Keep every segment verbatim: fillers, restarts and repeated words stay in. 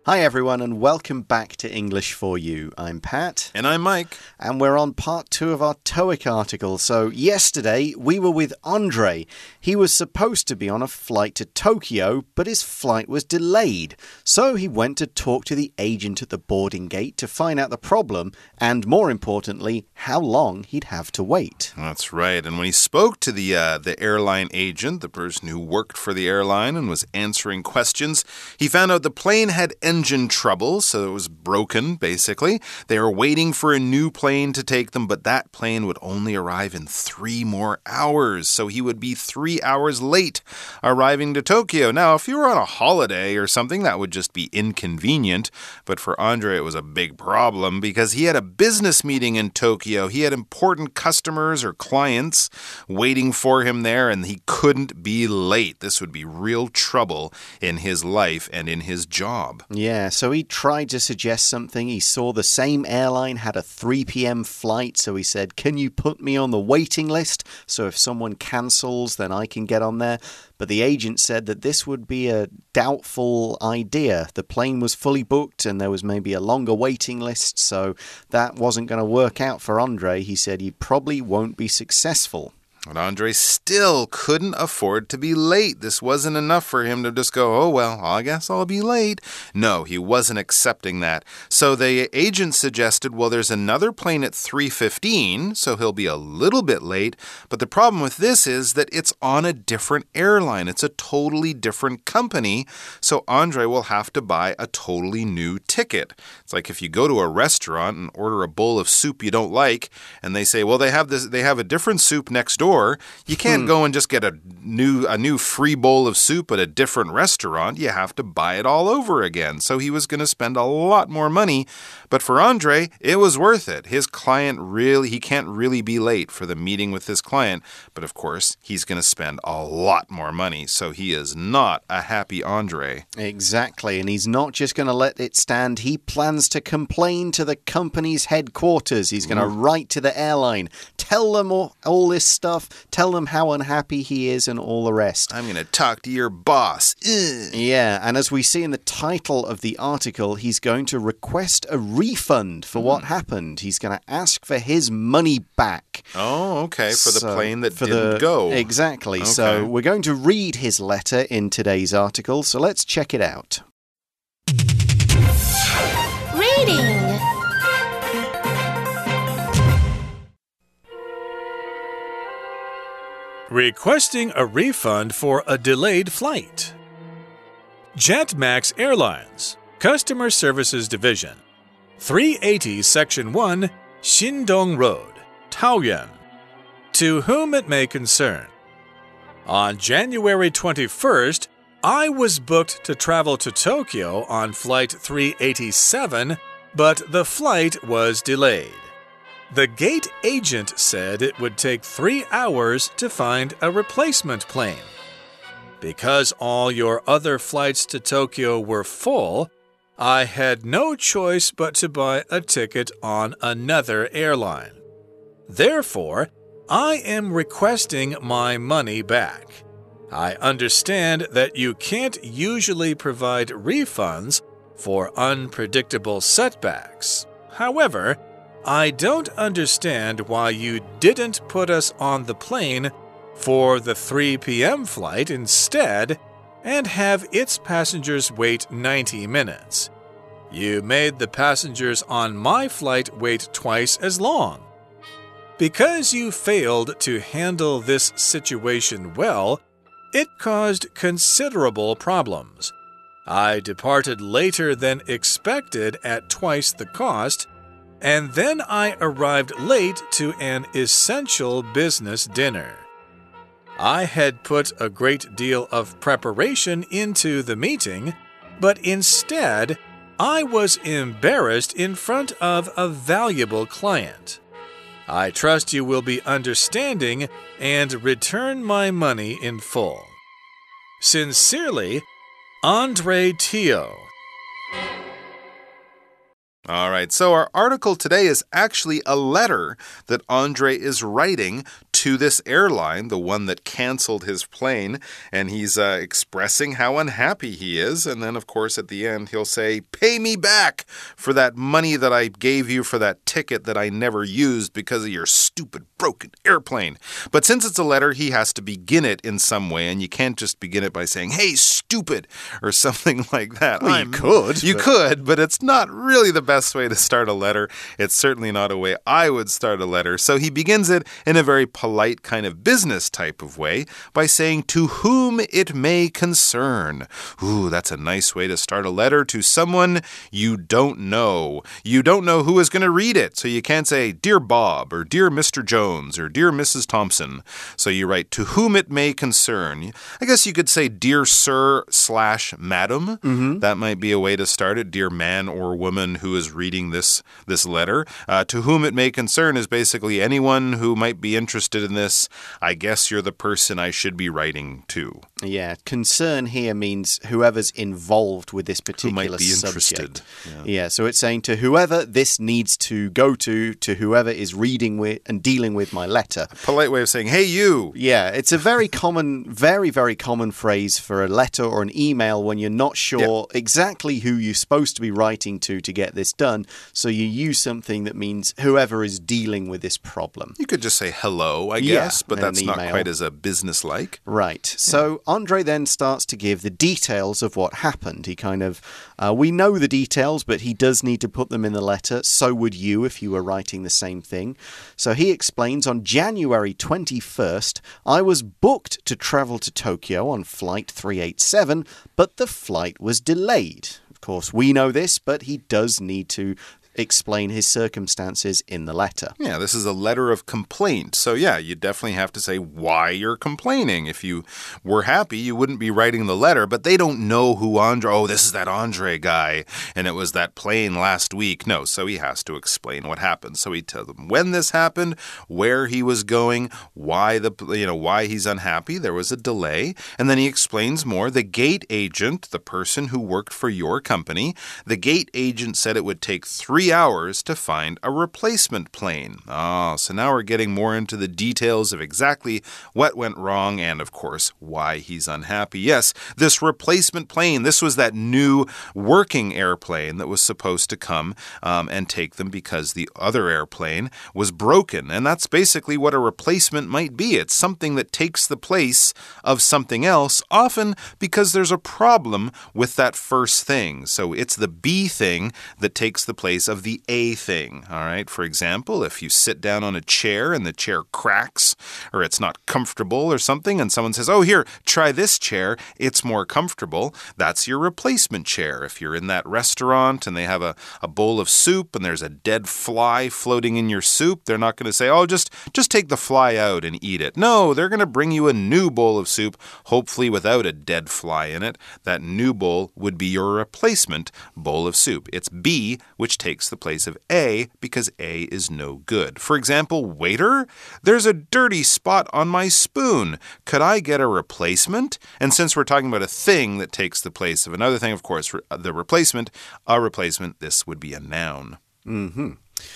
Hi everyone and welcome back to English for You. I'm Pat. And I'm Mike. And we're on part two of our TOEIC article. So yesterday we were with Andre. He was supposed to be on a flight to Tokyo, but his flight was delayed. So he went to talk to the agent at the boarding gate to find out the problem and, more importantly, how long he'd have to wait. That's right. And when he spoke to the, uh, the airline agent, the person who worked for the airline and was answering questions, he found out the plane had engine trouble, so it was broken, basically. They were waiting for a new plane to take them, but that plane would only arrive in three more hours, so he would be three hours late arriving to Tokyo. Now, if you were on a holiday or something, that would just be inconvenient, but for Andre, it was a big problem because he had a business meeting in Tokyo. He had important customers or clients waiting for him there, and he couldn't be late. This would be real trouble in his life and in his job. Yeah, so he tried to suggest something. He saw the same airline had a three p m flight, so he said, can you put me on the waiting list? So if someone cancels, then I can get on there. But the agent said that this would be a doubtful idea. The plane was fully booked and there was maybe a longer waiting list, so that wasn't going to work out for Andre. He said he probably won't be successful. But Andre still couldn't afford to be late. This wasn't enough for him to just go, oh, well, I guess I'll be late. No, he wasn't accepting that. So the agent suggested, well, there's another plane at three fifteen, so he'll be a little bit late. But the problem with this is that it's on a different airline. It's a totally different company. So Andre will have to buy a totally new ticket. It's like if you go to a restaurant and order a bowl of soup you don't like, and they say, well, they have this, they have a different soup next door. You can't go and just get a new a new free bowl of soup at a different restaurant. You have to buy it all over again. So he was going to spend a lot more money. But for Andre, it was worth it. His client really, he can't really be late for the meeting with his client. But of course, he's going to spend a lot more money. So he is not a happy Andre. Exactly. And he's not just going to let it stand. He plans to complain to the company's headquarters. He's going to write to the airline, tell them all, all this stuff. Tell them how unhappy he is and all the rest. I'm going to talk to your boss. Ugh. Yeah, and as we see in the title of the article, he's going to request a refund for mm. what happened. He's going to ask for his money back. Oh, okay, for the so, plane that for didn't the, go. Exactly. Okay. So we're going to read his letter in today's article, so let's check it out. Reading. Requesting a refund for a delayed flight. JetMax Airlines, Customer Services Division, three eighty Section one, Xindong Road, Taoyuan. To whom it may concern. On January twenty-first, I was booked to travel to Tokyo on Flight three eighty-seven, but the flight was delayed. The gate agent said it would take three hours to find a replacement plane. Because all your other flights to Tokyo were full, I had no choice but to buy a ticket on another airline. Therefore, I am requesting my money back. I understand that you can't usually provide refunds for unpredictable setbacks. However, I don't understand why you didn't put us on the plane for the three p m flight instead and have its passengers wait ninety minutes. You made the passengers on my flight wait twice as long. Because you failed to handle this situation well, it caused considerable problems. I departed later than expected at twice the cost, and then I arrived late to an essential business dinner. I had put a great deal of preparation into the meeting, but instead, I was embarrassed in front of a valuable client. I trust you will be understanding and return my money in full. Sincerely, Andre Teo. All right, so our article today is actually a letter that Andre is writing to this airline, the one that canceled his plane, and he's uh, expressing how unhappy he is. And then, of course, at the end, he'll say, pay me back for that money that I gave you for that ticket that I never used because of your stupid broken airplane. But since it's a letter, he has to begin it in some way, and you can't just begin it by saying, hey, stupid, or something like that. Well, you could. You but... could, but it's not really the best way to start a letter. It's certainly not a way I would start a letter. So he begins it in a very polite kind of business type of way by saying, to whom it may concern. Ooh, that's a nice way to start a letter to someone you don't know. You don't know who is going to read it, so you can't say, Dear Bob, or Dear Mister Jones, or Dear Missus Thompson. So you write, to whom it may concern. I guess you could say, Dear Sir slash Madam. Mm-hmm. That might be a way to start it. Dear man or woman who is reading this, this letter. Uh, to whom it may concern is basically anyone who might be interested in this. I guess you're the person I should be writing to. Yeah, concern here means whoever's involved with this particular who might be interested. subject. Yeah. yeah, so it's saying to whoever this needs to go to, to whoever is reading with and dealing with my letter. A polite way of saying, hey, you. Yeah, it's a very common, very, very common phrase for a letter or an email when you're not sure yeah. exactly who you're supposed to be writing to to get this done. So you use something that means whoever is dealing with this problem. You could just say hello, I yeah, guess, but that's not quite as a business-like. Right. So yeah. Andre then starts to give the details of what happened. He kind of, uh, we know the details, but he does need to put them in the letter. So would you if you were writing the same thing. So he explains, on January twenty-first, I was booked to travel to Tokyo on flight three eighty-seven, but the flight was delayed. Of course, we know this, but he does need to explain his circumstances in the letter. Yeah, this is a letter of complaint. So yeah, you definitely have to say why you're complaining. If you were happy, you wouldn't be writing the letter, but they don't know who Andre, oh, this is that Andre guy, and it was that plane last week. No, so he has to explain what happened. So he tells them when this happened, where he was going, why the you know, why he's unhappy. There was a delay, and then he explains more. The gate agent, the person who worked for your company, the gate agent said it would take three hours to find a replacement plane. Ah, so now we're getting more into the details of exactly what went wrong and, of course, why he's unhappy. Yes, this replacement plane, this was that new working airplane that was supposed to come um, and take them because the other airplane was broken. And that's basically what a replacement might be. It's something that takes the place of something else, often because there's a problem with that first thing. So it's the B thing that takes the place of the A thing, all right? For example, if you sit down on a chair and the chair cracks or it's not comfortable or something and someone says, oh, here, try this chair, it's more comfortable, that's your replacement chair. If you're in that restaurant and they have a, a bowl of soup and there's a dead fly floating in your soup, they're not going to say, oh, just, just take the fly out and eat it. No, they're going to bring you a new bowl of soup, hopefully without a dead fly in it. That new bowl would be your replacement bowl of soup. It's B, which takes the place of A because A is no good. For example, waiter, there's a dirty spot on my spoon. Could I get a replacement? And since we're talking about a thing that takes the place of another thing, of course, the replacement, a replacement, this would be a noun. Mm-hmm.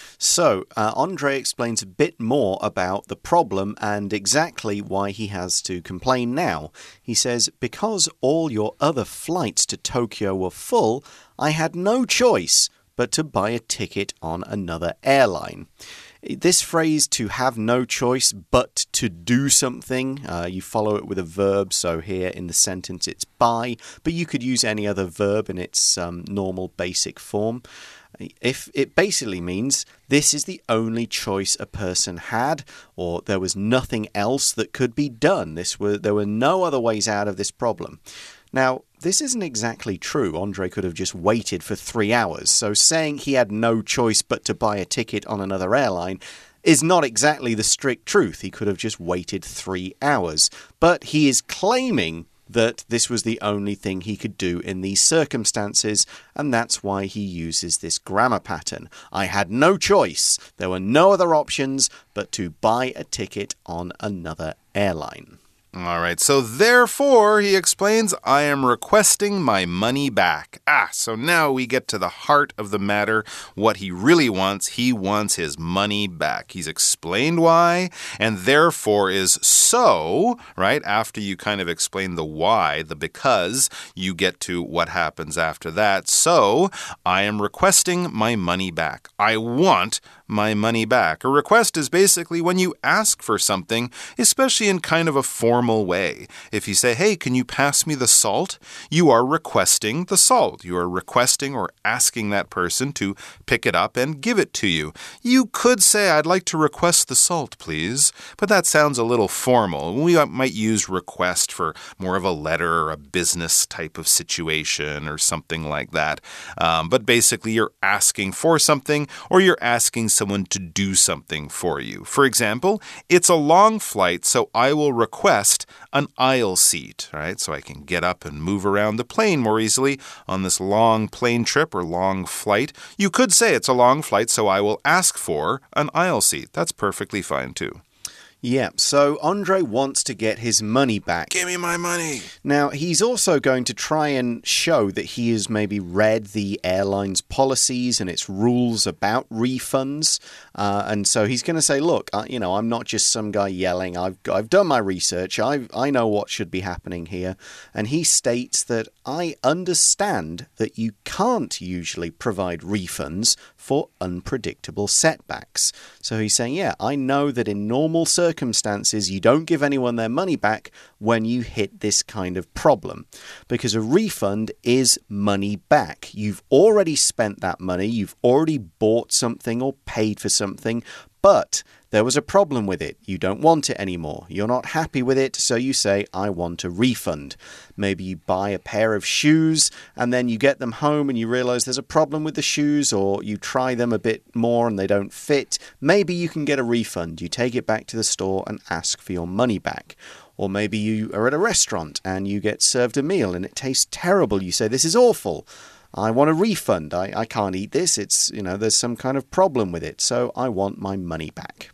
So, uh, Andre explains a bit more about the problem and exactly why he has to complain now. He says, because all your other flights to Tokyo were full, I had no choice but to buy a ticket on another airline. This phrase, to have no choice but to do something, uh, you follow it with a verb. So here in the sentence it's buy, but you could use any other verb in its um, normal basic form. If it basically means this is the only choice a person had, or there was nothing else that could be done. This were, there were no other ways out of this problem. Now, this isn't exactly true. Andre could have just waited for three hours. So saying he had no choice but to buy a ticket on another airline is not exactly the strict truth. He could have just waited three hours. But he is claiming that this was the only thing he could do in these circumstances, and that's why he uses this grammar pattern. I had no choice. There were no other options but to buy a ticket on another airline. All right, so therefore, he explains, I am requesting my money back. Ah, so now we get to the heart of the matter, what he really wants. He wants his money back. He's explained why, and therefore is so, right? After you kind of explain the why, the because, you get to what happens after that. So, I am requesting my money back. I want my money back. A request is basically when you ask for something, especially in kind of a formal way. If you say, hey, can you pass me the salt? You are requesting the salt. You are requesting or asking that person to pick it up and give it to you. You could say, I'd like to request the salt, please. But that sounds a little formal. We might use request for more of a letter or a business type of situation or something like that. Um, but basically, you're asking for something or you're asking someone to do something for you. For example, it's a long flight, so I will request an aisle seat, right? So I can get up and move around the plane more easily on this long plane trip or long flight. You could say it's a long flight, so I will ask for an aisle seat. That's perfectly fine too. Yeah, so Andre wants to get his money back. Give me my money. Now, he's also going to try and show that he has maybe read the airline's policies and its rules about refunds. Uh, and so he's going to say, look, uh, you know, I'm not just some guy yelling. I've, I've done my research. I I know what should be happening here. And he states that I understand that you can't usually provide refunds for unpredictable setbacks. So he's saying, yeah, I know that in normal circumstances, you don't give anyone their money back when you hit this kind of problem. Because a refund is money back. You've already spent that money. You've already bought something or paid for something, but there was a problem with it. You don't want it anymore. You're not happy with it, so you say, I want a refund. Maybe you buy a pair of shoes and then you get them home and you realize there's a problem with the shoes, or you try them a bit more and they don't fit. Maybe you can get a refund. You take it back to the store and ask for your money back. Or maybe you are at a restaurant and you get served a meal and it tastes terrible. You say, this is awful. I want a refund. I, I can't eat this. It's, you know, there's some kind of problem with it. So I want my money back.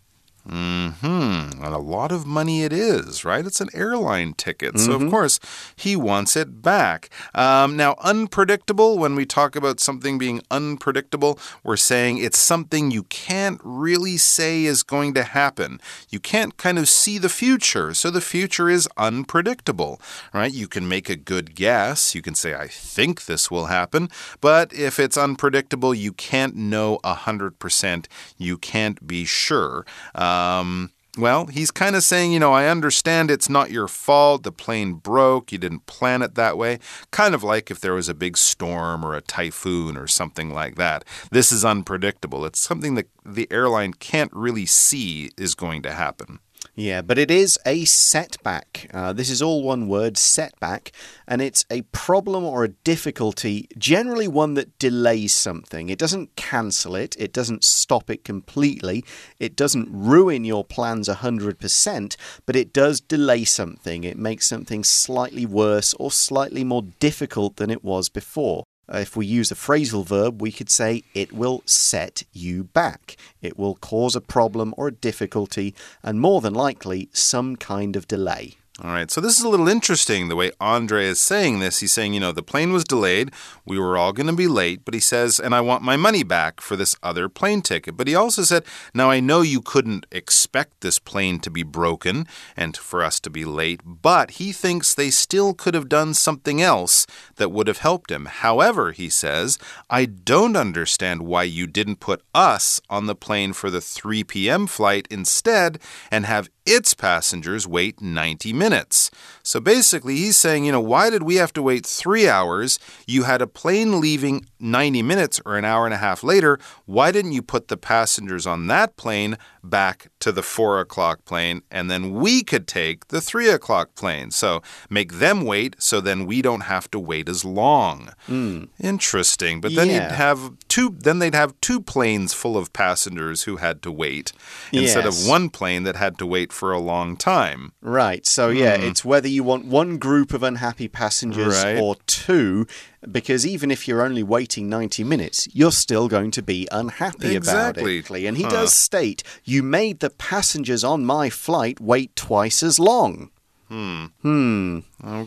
Mm-hmm. And a lot of money it is, right? It's an airline ticket. Mm-hmm. So, of course, he wants it back. Um, now, unpredictable, when we talk about something being unpredictable, we're saying it's something you can't really say is going to happen. You can't kind of see the future. So the future is unpredictable, right? You can make a good guess. You can say, I think this will happen. But if it's unpredictable, you can't know one hundred percent. You can't be sure. Um, Um, well, he's kind of saying, you know, I understand it's not your fault. The plane broke. You didn't plan it that way. Kind of like if there was a big storm or a typhoon or something like that. This is unpredictable. It's something that the airline can't really see is going to happen. Yeah, but it is a setback. Uh, this is all one word, setback, and it's a problem or a difficulty, generally one that delays something. It doesn't cancel it. It doesn't stop it completely. It doesn't ruin your plans one hundred percent, but it does delay something. It makes something slightly worse or slightly more difficult than it was before. If we use a phrasal verb, we could say it will set you back. It will cause a problem or a difficulty, and more than likely, some kind of delay. All right, so this is a little interesting, the way Andre is saying this. He's saying, you know, the plane was delayed. We were all going to be late. But he says, and I want my money back for this other plane ticket. But he also said, now I know you couldn't expect this plane to be broken and for us to be late. But he thinks they still could have done something else that would have helped him. However, he says, I don't understand why you didn't put us on the plane for the three p m flight instead and have its passengers wait ninety minutes. So basically, he's saying, you know, why did we have to wait three hours? You had a plane leaving ninety minutes or an hour and a half later. Why didn't you put the passengers on that plane back to the four o'clock plane, and then we could take the three o'clock plane? So make them wait, so then we don't have to wait as long. Mm. Interesting. But then yeah. you'd have two. Then they'd have two planes full of passengers who had to wait instead yes. of one plane that had to wait for a long time. Right. So yeah, mm. it's whether you want one group of unhappy passengers right. or two. Because even if you're only waiting ninety minutes, you're still going to be unhappy exactly. about it. And he huh. does state, you made the passengers on my flight wait twice as long. Hmm. Hmm.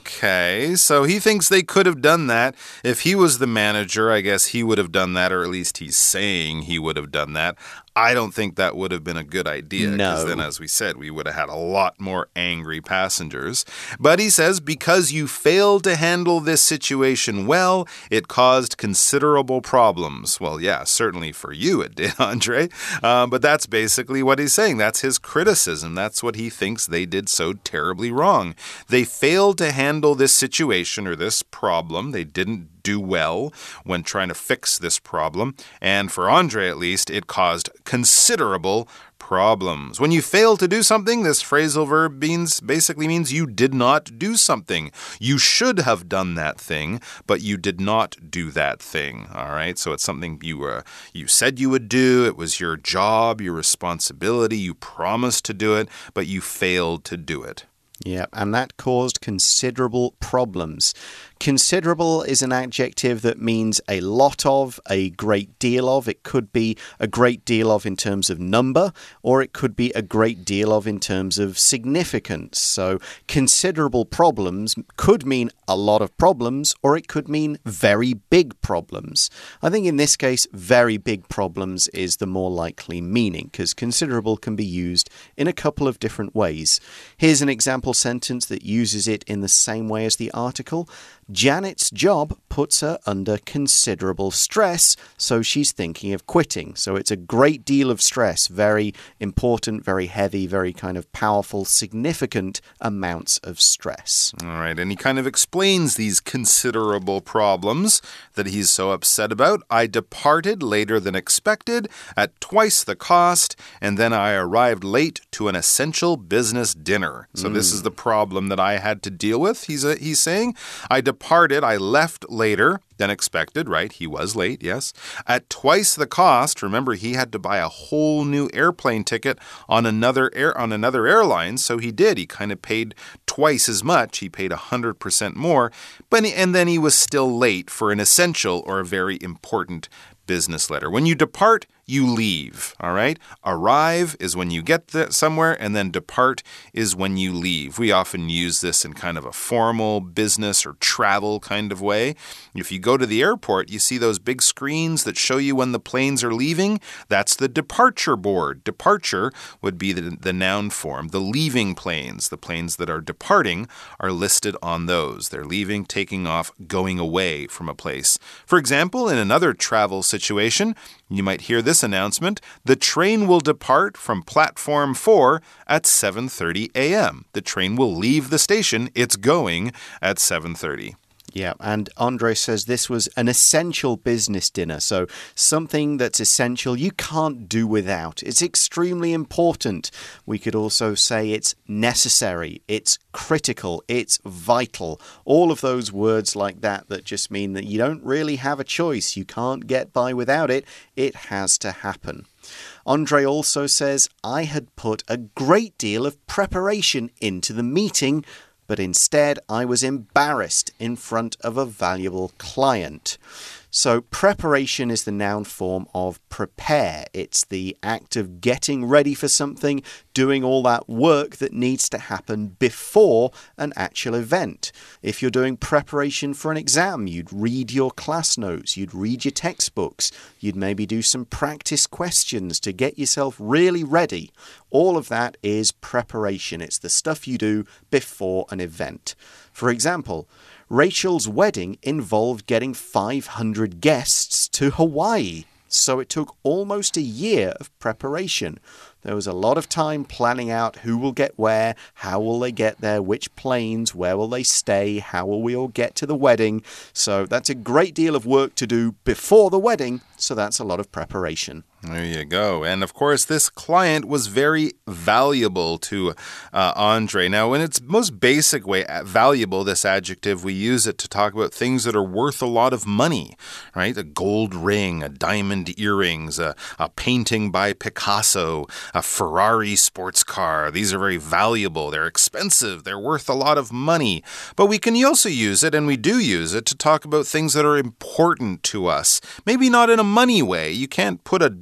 Okay, so he thinks they could have done that. If he was the manager, I guess he would have done that, or at least he's saying he would have done that. I don't think that would have been a good idea. Because no. then, as we said, we would have had a lot more angry passengers. But he says, because you failed to handle this situation well, it caused considerable problems. Well, yeah, certainly for you it did, Andre. Uh, but that's basically what he's saying. That's his criticism. That's what he thinks they did so terribly wrong. They failed to handle this situation or this problem. They didn't do well when trying to fix this problem. And for Andre, at least, it caused considerable problems. When you fail to do something, this phrasal verb means basically means you did not do something. You should have done that thing, but you did not do that thing. All right, so it's something you uh, you said you would do. It was your job, your responsibility. You promised to do it, but you failed to do it. Yeah, and that caused considerable problems. Considerable is an adjective that means a lot of, a great deal of. It could be a great deal of in terms of number, or it could be a great deal of in terms of significance. So considerable problems could mean a lot of problems, or it could mean very big problems. I think in this case, very big problems is the more likely meaning, because considerable can be used in a couple of different ways. Here's an example sentence that uses it in the same way as the article. Janet's job puts her under considerable stress, so she's thinking of quitting. So it's a great deal of stress, very important, very heavy, very kind of powerful, significant amounts of stress. All right, and he kind of explains these considerable problems that he's so upset about. I departed later than expected at twice the cost, and then I arrived late to an essential business dinner. So mm. this is the problem that I had to deal with, he's, uh, he's saying. I departed Departed, I left later than expected, right? He was late, yes. At twice the cost, remember he had to buy a whole new airplane ticket on another air on another airline, so he did. He kind of paid twice as much. He paid one hundred percent more, but and then he was still late for an essential or a very important business letter. When you depart, you leave, all right? Arrive is when you get there somewhere, and then depart is when you leave. We often use this in kind of a formal business or travel kind of way. If you go to the airport, you see those big screens that show you when the planes are leaving. That's the departure board. Departure would be the, the noun form. The leaving planes, the planes that are departing, are listed on those. They're leaving, taking off, going away from a place. For example, in another travel situation, you might hear this announcement: the train will depart from platform four at seven thirty a m The train will leave the station. It's going at seven thirty. Yeah, and Andre says this was an essential business dinner, so something that's essential you can't do without. It's extremely important. We could also say it's necessary, it's critical, it's vital. All of those words like that that just mean that you don't really have a choice. You can't get by without it. It has to happen. Andre also says, I had put a great deal of preparation into the meeting, but instead I was embarrassed in front of a valuable client. So preparation is the noun form of prepare. It's the act of getting ready for something, doing all that work that needs to happen before an actual event. If you're doing preparation for an exam, you'd read your class notes, you'd read your textbooks, you'd maybe do some practice questions to get yourself really ready. All of that is preparation. It's the stuff you do before an event. For example, Rachel's wedding involved getting five hundred guests to Hawaii, so it took almost a year of preparation. There was a lot of time planning out who will get where, how will they get there, which planes, where will they stay, how will we all get to the wedding. So that's a great deal of work to do before the wedding, so that's a lot of preparation. There you go. And of course, this client was very valuable to uh, Andre. Now, in its most basic way, valuable, this adjective, we use it to talk about things that are worth a lot of money, right? A gold ring, a diamond earrings, a, a painting by Picasso, a Ferrari sports car. These are very valuable. They're expensive. They're worth a lot of money. But we can also use it, and we do use it, to talk about things that are important to us. Maybe not in a money way. You can't put a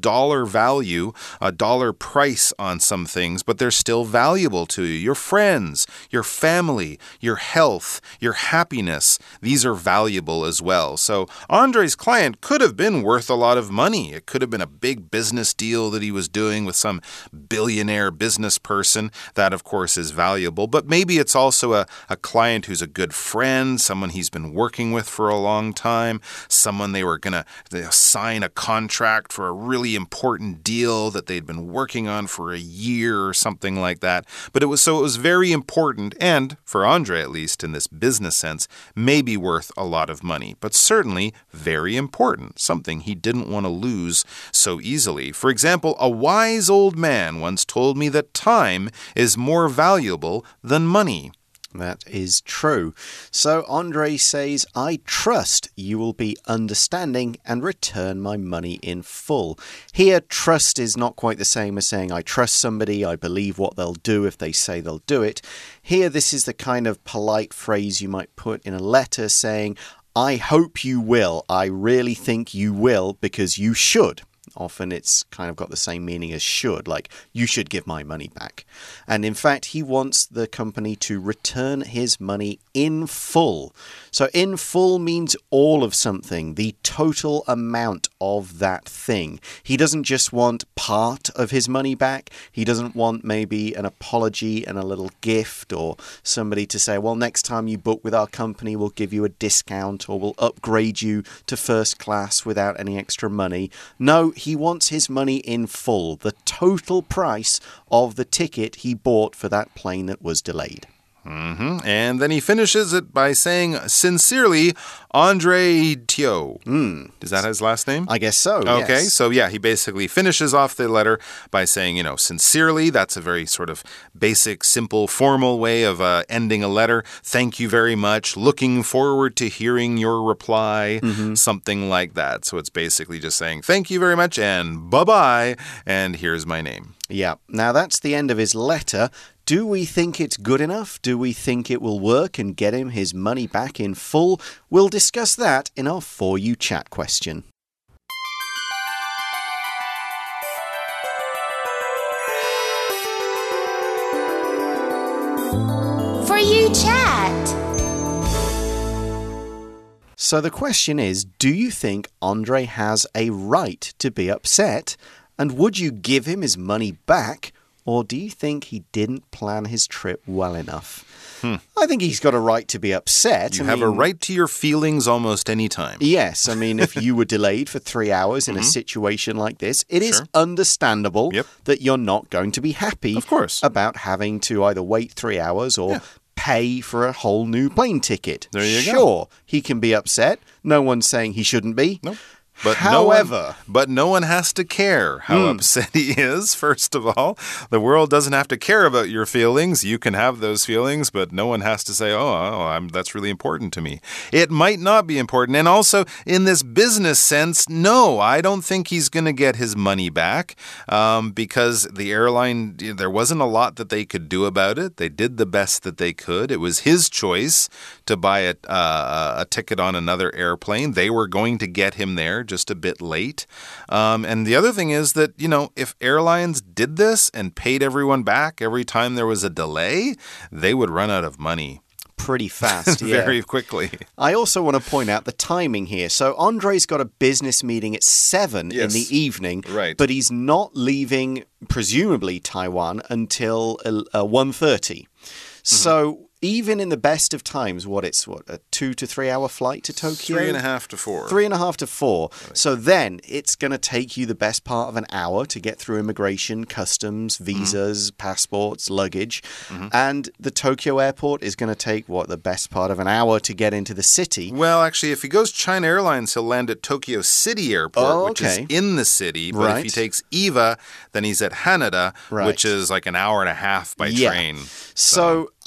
dollar value, a dollar price on some things, but they're still valuable to you. Your friends, your family, your health, your happiness, these are valuable as well. So Andre's client could have been worth a lot of money. It could have been a big business deal that he was doing with some billionaire business person. That, of course, is valuable. But maybe it's also a, a client who's a good friend, someone he's been working with for a long time, someone they were going to sign a contract for a really important deal that they'd been working on for a year or something like that. But it was so it was very important, and for Andre at least in this business sense, maybe worth a lot of money, but certainly very important, something he didn't want to lose so easily. For example, a wise old man once told me that time is more valuable than money. That is true. So Andre says, I trust you will be understanding and return my money in full. Here, trust is not quite the same as saying I trust somebody, I believe what they'll do if they say they'll do it. Here, this is the kind of polite phrase you might put in a letter saying, I hope you will, I really think you will, because you should. Often it's kind of got the same meaning as should, like you should give my money back. And in fact, he wants the company to return his money in full. So in full means all of something, the total amount of that thing. He doesn't just want part of his money back. He doesn't want maybe an apology and a little gift or somebody to say, well, next time you book with our company, we'll give you a discount or we'll upgrade you to first class without any extra money. No, he wants his money in full, the total price of the ticket he bought for that plane that was delayed. Mm-hmm. And then he finishes it by saying, sincerely, Andre Teo. Mm. Is that his last name? I guess so, Okay, yes. so yeah, he basically finishes off the letter by saying, you know, sincerely. That's a very sort of basic, simple, formal way of uh, ending a letter. Thank you very much. Looking forward to hearing your reply. Mm-hmm. Something like that. So it's basically just saying, thank you very much and bye-bye. And here's my name. Yeah, now that's the end of his letter. Do we think it's good enough? Do we think it will work and get him his money back in full? We'll discuss that in our For You Chat question. For You Chat. So the question is, do you think Andre has a right to be upset? And would you give him his money back? Or do you think he didn't plan his trip well enough? Hmm. I think he's got a right to be upset. You I have mean, a right to your feelings almost any time. Yes. I mean, if you were delayed for three hours in mm-hmm. a situation like this, it sure. is understandable yep. that you're not going to be happy of course. about having to either wait three hours or yeah. pay for a whole new plane ticket. There you sure, go. Sure, he can be upset. No one's saying he shouldn't be. Nope. But However, no one, but no one has to care how mm. upset he is, first of all. The world doesn't have to care about your feelings. You can have those feelings, but no one has to say, oh, oh I'm, that's really important to me. It might not be important. And also, in this business sense, no, I don't think he's going to get his money back um, because the airline, there wasn't a lot that they could do about it. They did the best that they could. It was his choice to buy a, uh, a ticket on another airplane. They were going to get him there just a bit late. Um, and the other thing is that, you know, if airlines did this and paid everyone back every time there was a delay, they would run out of money. Pretty fast, yeah. Very quickly. I also want to point out the timing here. So Andre's got a business meeting at seven yes. in the evening, right. but he's not leaving, presumably, Taiwan until uh, one thirty. Mm-hmm. So even in the best of times, what it's what a two to three hour flight to Tokyo, three and a half to four, three and a half to four. So then it's going to take you the best part of an hour to get through immigration, customs, visas, mm-hmm. passports, luggage, mm-hmm. and the Tokyo airport is going to take what the best part of an hour to get into the city. Well, actually, if he goes China Airlines, he'll land at Tokyo City Airport, oh, okay. which is in the city. But right. if he takes EVA, then he's at Haneda, right. which is like an hour and a half by yeah. train. So. so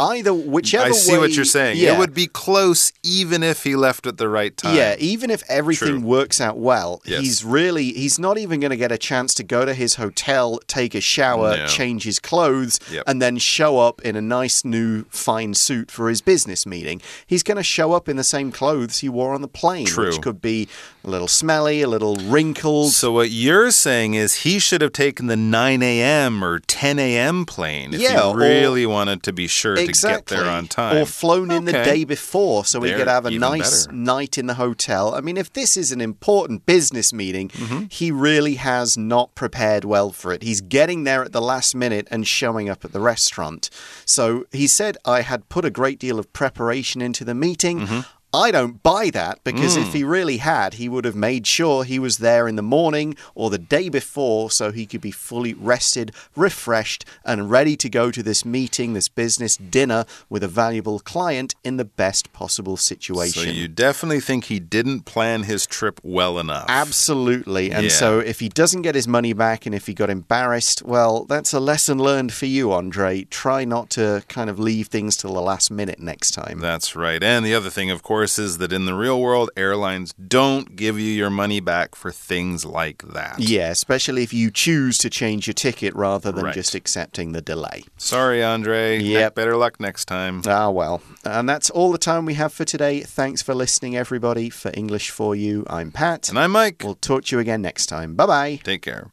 either, whichever way... I see way, what you're saying. Yeah. It would be close even if he left at the right time. Yeah, even if everything True. works out well, Yes. he's really, he's not even going to get a chance to go to his hotel, take a shower, No. change his clothes, Yep. and then show up in a nice new fine suit for his business meeting. He's going to show up in the same clothes he wore on the plane, True. which could be a little smelly, a little wrinkled. So what you're saying is he should have taken the nine a m or ten a m plane if Yeah, he really wanted to be sure exactly. to get there on time. Or flown in the Okay. day before so he There, could have a even nice better. night in the hotel. I mean, if this is an important business meeting, Mm-hmm. he really has not prepared well for it. He's getting there at the last minute and showing up at the restaurant. So he said, I had put a great deal of preparation into the meeting. Mm-hmm. I don't buy that because Mm. if he really had, he would have made sure he was there in the morning or the day before so he could be fully rested, refreshed, and ready to go to this meeting, this business dinner with a valuable client in the best possible situation. So you definitely think he didn't plan his trip well enough. Absolutely. And Yeah. so if he doesn't get his money back and if he got embarrassed, well, that's a lesson learned for you, Andre. Try not to kind of leave things till the last minute next time. That's right. And the other thing, of course, is that in the real world, airlines don't give you your money back for things like that. Yeah, especially if you choose to change your ticket rather than Right. just accepting the delay. Sorry, Andre. Yep. Better luck next time. Ah, well. And that's all the time we have for today. Thanks for listening, everybody. For English for You, I'm Pat. And I'm Mike. We'll talk to you again next time. Bye-bye. Take care.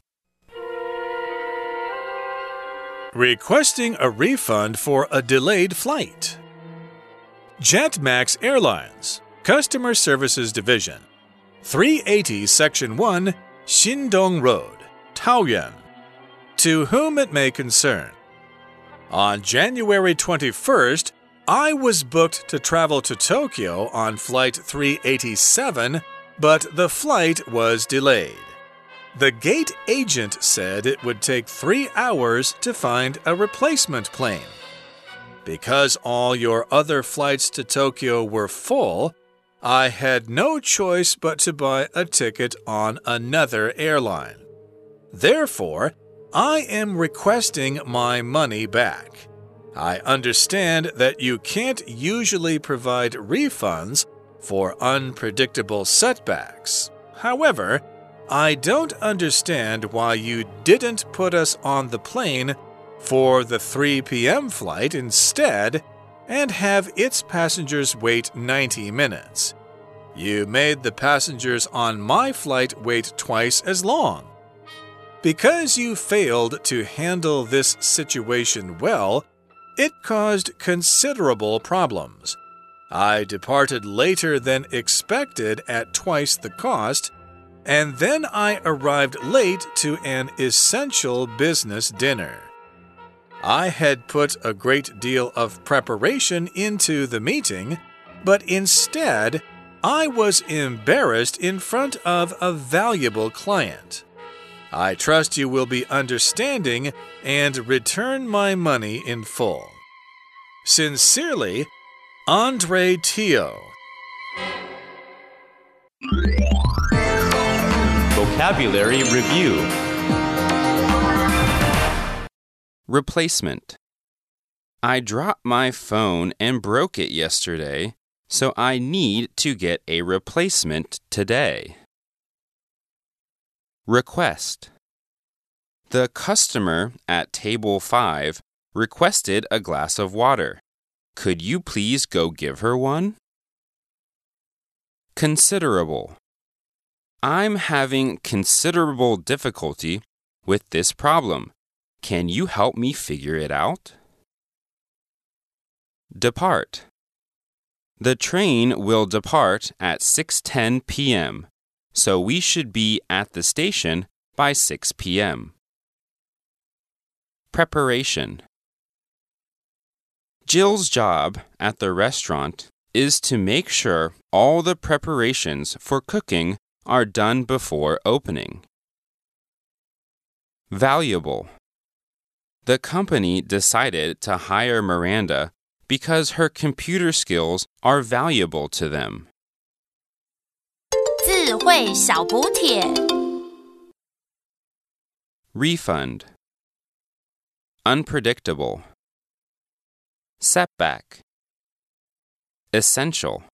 Requesting a refund for a delayed flight. JetMax Airlines, Customer Services Division, three eighty Section one, Xindong Road, Taoyuan. To whom it may concern. On January twenty-first, I was booked to travel to Tokyo on Flight three eighty-seven, but the flight was delayed. The gate agent said it would take three hours to find a replacement plane. Because all your other flights to Tokyo were full, I had no choice but to buy a ticket on another airline. Therefore, I am requesting my money back. I understand that you can't usually provide refunds for unpredictable setbacks. However, I don't understand why you didn't put us on the plane for the three p m flight instead and have its passengers wait ninety minutes. You made the passengers on my flight wait twice as long. Because you failed to handle this situation well, it caused considerable problems. I departed later than expected at twice the cost, and then I arrived late to an essential business dinner. I had put a great deal of preparation into the meeting, but instead, I was embarrassed in front of a valuable client. I trust you will be understanding and return my money in full. Sincerely, Andre Teo. Vocabulary Review. Replacement. I dropped my phone and broke it yesterday, so I need to get a replacement today. Request. The customer at table five requested a glass of water. Could you please go give her one? Considerable. I'm having considerable difficulty with this problem. Can you help me figure it out? Depart. The train will depart at six ten p m, so we should be at the station by six p m Preparation. Jill's job at the restaurant is to make sure all the preparations for cooking are done before opening. Valuable. The company decided to hire Miranda because her computer skills are valuable to them. 智慧小補帖 Refund. Unpredictable. Setback. Essential.